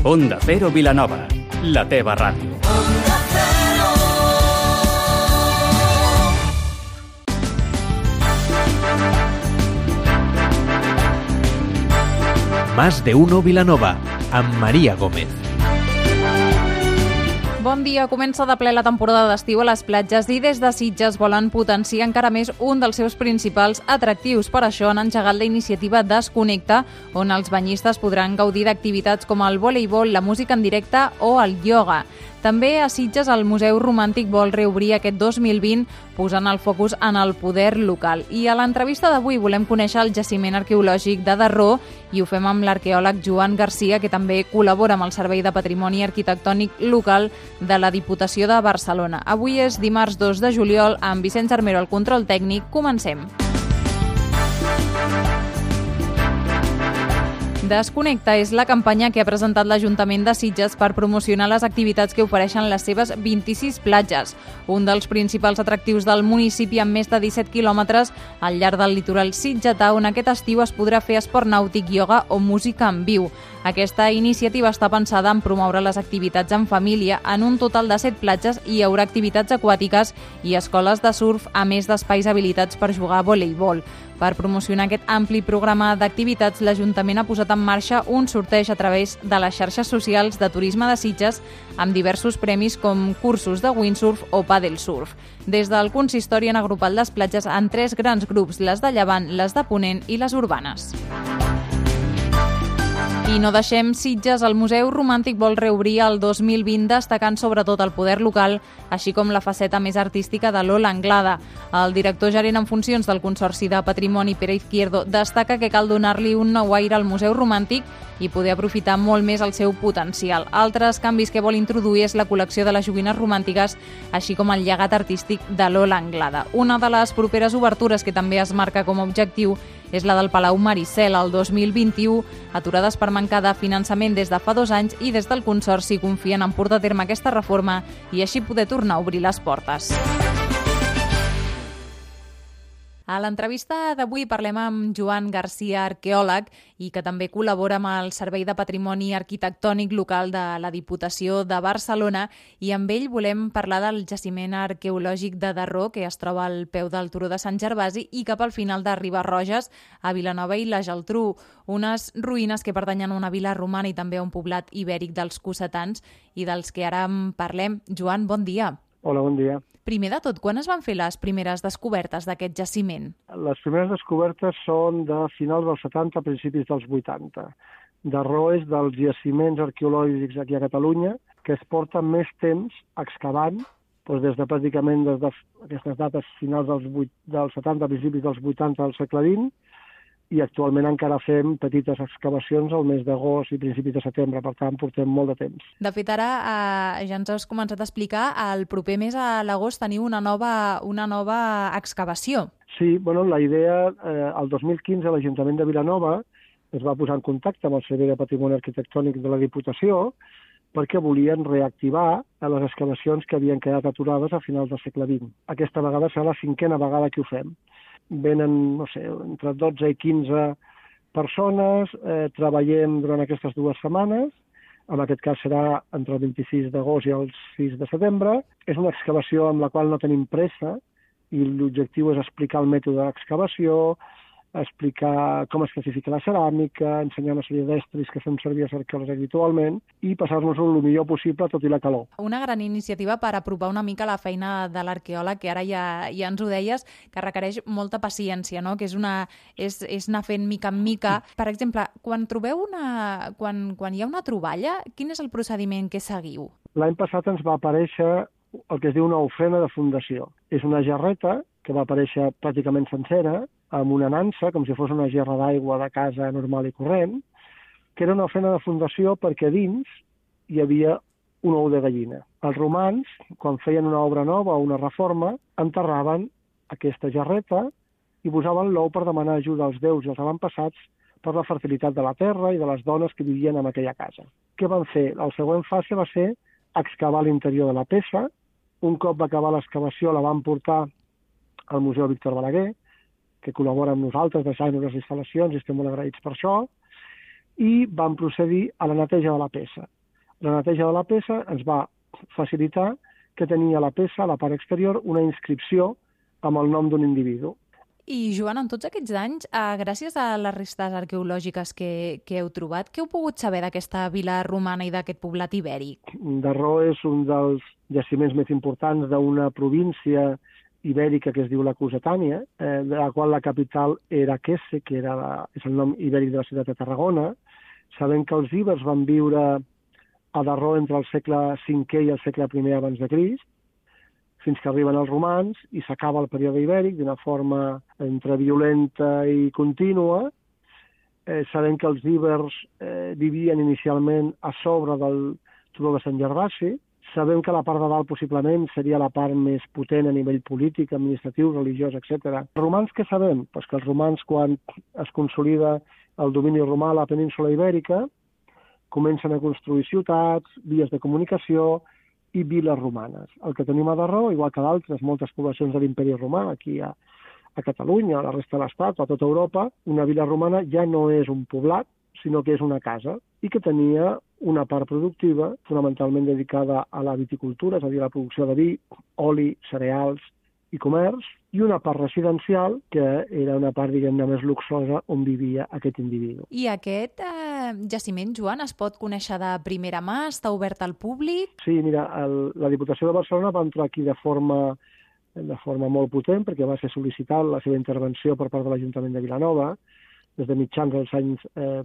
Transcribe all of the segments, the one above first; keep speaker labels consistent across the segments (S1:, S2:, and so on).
S1: Onda Cero Vilanova, la teva ràdio.
S2: Más de uno Vilanova, amb Maria Gómez.
S3: Bon dia, comença de ple la temporada d'estiu a les platges i des de Sitges volen potenciar encara més un dels seus principals atractius. Per això han engegat la iniciativa Desconnecta, on els banyistes podran gaudir d'activitats com el voleibol, la música en directe o el ioga. També a Sitges el Museu Romàntic vol reobrir aquest 2020 posant el focus en el poder local. I a l'entrevista d'avui volem conèixer el jaciment arqueològic de Darró i ho fem amb l'arqueòleg Joan Garcia, que també col·labora amb el Servei de Patrimoni Arquitectònic Local de la Diputació de Barcelona. Avui és dimarts 2 de juliol, amb Vicenç Armero al control tècnic. Comencem. Desconnecta és la campanya que ha presentat l'Ajuntament de Sitges per promocionar les activitats que ofereixen les seves 26 platges. Un dels principals atractius del municipi, amb més de 17 quilòmetres al llarg del litoral sitgetà, on aquest estiu es podrà fer esport nàutic, ioga o música en viu. Aquesta iniciativa està pensada en promoure les activitats en família. En un total de 7 platges hi haurà activitats aquàtiques i escoles de surf, a més d'espais habilitats per jugar a voleibol. Per promocionar aquest ampli programa d'activitats, l'Ajuntament ha posat en marxa un sorteig a través de les xarxes socials de turisme de Sitges amb diversos premis com cursos de windsurf o paddle surf. Des del consistori han agrupat les platges en 3 grans grups, les de Llevant, les de Ponent i les urbanes. I no deixem Sitges, el Museu Romàntic vol reobrir el 2020 destacant sobretot el poder local, així com la faceta més artística de Lola Anglada. El director gerent en funcions del Consorci de Patrimoni, Pere Izquierdo, destaca que cal donar-li un nou aire al Museu Romàntic i poder aprofitar molt més el seu potencial. Altres canvis que vol introduir és la col·lecció de les joguines romàntiques, així com el llegat artístic de Lola Anglada. Una de les properes obertures que també es marca com a objectiu és la del Palau Maricel, el 2021, aturades per mancar de finançament des de fa 2 anys, i des del Consorci confien en portar a terme aquesta reforma i així poder tornar a obrir les portes. A l'entrevista d'avui parlem amb Joan Garcia, arqueòleg, i que també col·labora amb el Servei de Patrimoni Arquitectònic Local de la Diputació de Barcelona, i amb ell volem parlar del jaciment arqueològic de Darró, que es troba al peu del Turó de Sant Gervasi i cap al final de Riba-roges, a Vilanova i la Geltrú, unes ruïnes que pertanyen a una vila romana i també a un poblat ibèric dels cossetans i dels que ara en parlem. Joan, bon dia.
S4: Hola, bon dia.
S3: Primer de tot, quan es van fer les primeres descobertes d'aquest jaciment?
S4: Les primeres descobertes són de finals dels 70, principis dels 80. Darró és dels jaciments arqueològics aquí a Catalunya que es porten més temps excavant, doncs des de pràcticament des d'aquestes dates finals dels 70, principis dels 80 del segle XX, i actualment encara fem petites excavacions al mes d'agost i principis de setembre, per tant portem molt de temps.
S3: De fet, ara ja ens has començat a explicar, el proper mes a l'agost teniu una nova excavació.
S4: Sí, bueno, la idea, el 2015 l'Ajuntament de Vilanova es va posar en contacte amb el Servei de Patrimoni Arquitectònic de la Diputació perquè volien reactivar les excavacions que havien quedat aturades a finals del segle XX. Aquesta vegada serà la 5a vegada que ho fem. Venen, no sé, entre 12 i 15 persones, treballem durant aquestes 2 setmanes, en aquest cas serà entre el 26 d'agost i el 6 de setembre. És una excavació amb la qual no tenim pressa i l'objectiu és explicar el mètode d'excavació, explicar com es classifica la ceràmica, ensenyar una sèrie d'estris que fem servir als arqueòlegs habitualment i passar-nos-ho el millor possible, tot i la calor.
S3: Una gran iniciativa per apropar una mica la feina de l'arqueòleg, que ara ja ens ho deies, que requereix molta paciència, no? Que és anar fent mica en mica. Per exemple, quan hi ha una troballa, quin és el procediment que seguiu?
S4: L'any passat ens va aparèixer el que es diu una ofrena de fundació. És una gerreta que va aparèixer pràcticament sencera, amb una nansa, com si fos una gerra d'aigua de casa normal i corrent, que era una ofrena de fundació perquè dins hi havia un ou de gallina. Els romans, quan feien una obra nova o una reforma, enterraven aquesta gerreta i posaven l'ou per demanar ajuda als déus i als avantpassats per la fertilitat de la terra i de les dones que vivien en aquella casa. Què van fer? La següent fase va ser excavar l'interior de la peça. Un cop va acabar l'excavació la van portar al Museu Víctor Balaguer, que col·labora amb nosaltres, deixant-nos les instal·lacions i estem molt agraïts per això, i vam procedir a la neteja de la peça. La neteja de la peça ens va facilitar que tenia la peça, a la part exterior, una inscripció amb el nom d'un individu.
S3: I, Joan, en tots aquests anys, gràcies a les restes arqueològiques que heu trobat, què heu pogut saber d'aquesta vila romana i d'aquest poblat ibèric?
S4: Darró és un dels jaciments més importants d'una província ibèrica que es diu la Cusatània, de la qual la capital era Quesse, que és el nom ibèric de la ciutat de Tarragona. Sabem que els ibers van viure a Darró entre el segle V i el segle I abans de Crist, fins que arriben els romans i s'acaba el període ibèric d'una forma entre violenta i contínua. Sabem que els ibers vivien inicialment a sobre del turó de Sant Gervasi. Sabem que la part de dalt possiblement seria la part més potent a nivell polític, administratiu, religiós, etc. Els romans què sabem? Pues que els romans, quan es consolida el domini romà a la península ibèrica, comencen a construir ciutats, vies de comunicació i viles romanes. El que tenim a Darró, igual que d'altres moltes poblacions de l'imperi romà, aquí a Catalunya, a la resta de l'Estat, a tota Europa, una vila romana ja no és un poblat, sinó que és una casa, i que tenia una part productiva fonamentalment dedicada a la viticultura, és a dir, a la producció de vi, oli, cereals i comerç, i una part residencial, que era una part, diguem-ne, més luxosa, on vivia aquest individu.
S3: I aquest jaciment, Joan, es pot conèixer de primera mà? Està obert al públic?
S4: Sí, mira, la Diputació de Barcelona va entrar aquí de forma molt potent, perquè va ser sol·licitat la seva intervenció per part de l'Ajuntament de Vilanova, des de mitjans dels anys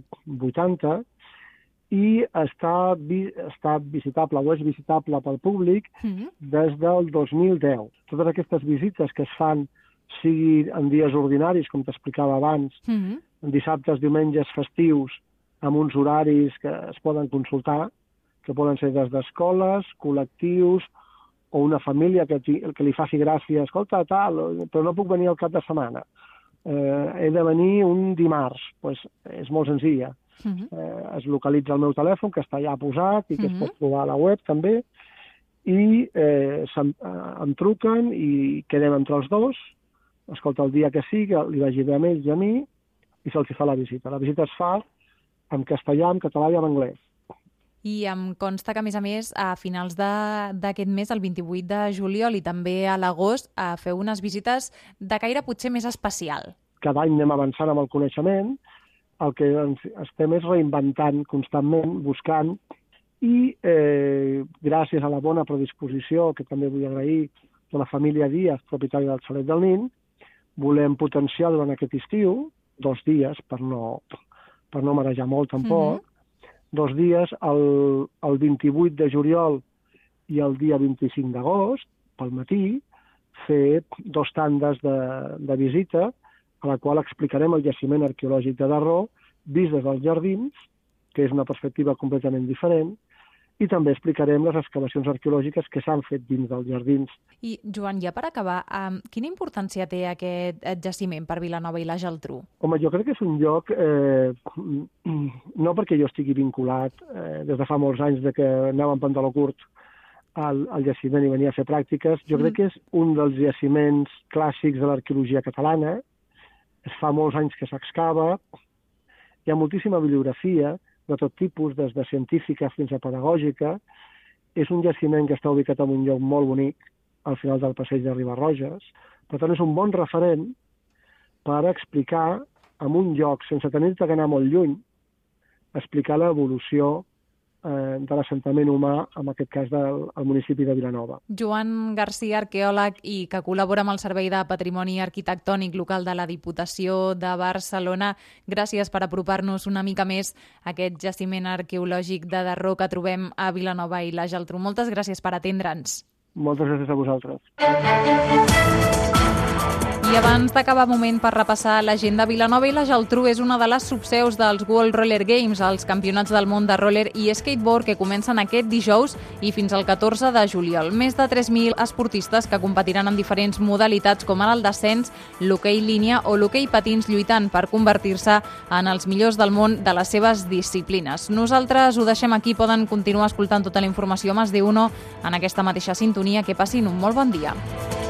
S4: 80, i està visitable o és visitable pel públic des del 2010. Totes aquestes visites que es fan, sigui en dies ordinaris, com t'explicava abans, en dissabtes, diumenges, festius, amb uns horaris que es poden consultar, que poden ser des d'escoles, col·lectius, o una família que li faci gràcia, escolta, tal, però no puc venir al cap de setmana. He de venir un dimarts, doncs és molt senzilla. Es localitza el meu telèfon, que està allà posat i que es pot trobar a la web també, i em truquen i quedem entre els dos, escolta, el dia que sigui, li vagi bé a ells i a mi, i se'ls fa la visita. La visita es fa en castellà, en català i en anglès.
S3: I em consta que, a més, a finals d'aquest mes, el 28 de juliol i també a l'agost, feu unes visites de caire potser més especial.
S4: Cada any anem avançant amb el coneixement, el que estem és reinventant constantment, buscant, i gràcies a la bona predisposició, que també vull agrair, de la família Díaz, propietària del Xalet del Nin, volem potenciar durant aquest estiu, 2 dies, per no marejar molt tampoc, 2 dies, el 28 de juliol i el dia 25 d'agost, pel matí, fer 2 tandes de visita, a la qual explicarem el jaciment arqueològic de Darró, vist des dels jardins, que és una perspectiva completament diferent, i també explicarem les excavacions arqueològiques que s'han fet dins dels jardins.
S3: I, Joan, ja per acabar, quina importància té aquest jaciment per Vilanova i la Geltrú?
S4: Home, jo crec que és un lloc, no perquè jo estigui vinculat des de fa molts anys de que anava en pantaló curt al jaciment i venia a fer pràctiques, jo crec que és un dels jaciments clàssics de l'arqueologia catalana. Es fa molts anys que s'excava, hi ha moltíssima bibliografia de tot tipus, des de científica fins a pedagògica. És un jaciment que està ubicat en un lloc molt bonic, al final del passeig de Ribarroges. Per tant, és un bon referent per explicar en un lloc, sense tenir-te que anar molt lluny, explicar l'evolució de l'assentament humà, en aquest cas del municipi de Vilanova.
S3: Joan Garcia, arqueòleg i que col·labora amb el Servei de Patrimoni Arquitectònic Local de la Diputació de Barcelona, gràcies per apropar-nos una mica més a aquest jaciment arqueològic de Darró que trobem a Vilanova i la Geltrú. Moltes gràcies per atendre'ns.
S4: Moltes gràcies a vosaltres.
S3: I abans d'acabar, moment per repassar l'agenda. Vilanova i la Geltrú és una de les subseus dels World Roller Games, els campionats del món de roller i skateboard que comencen aquest dijous i fins al 14 de juliol. Més de 3.000 esportistes que competiran en diferents modalitats com ara el descens, l'hoquei línia o l'hoquei patins, lluitant per convertir-se en els millors del món de les seves disciplines. Nosaltres ho deixem aquí, poden continuar escoltant tota la informació a Más de Uno en aquesta mateixa sintonia. Que passin un molt bon dia.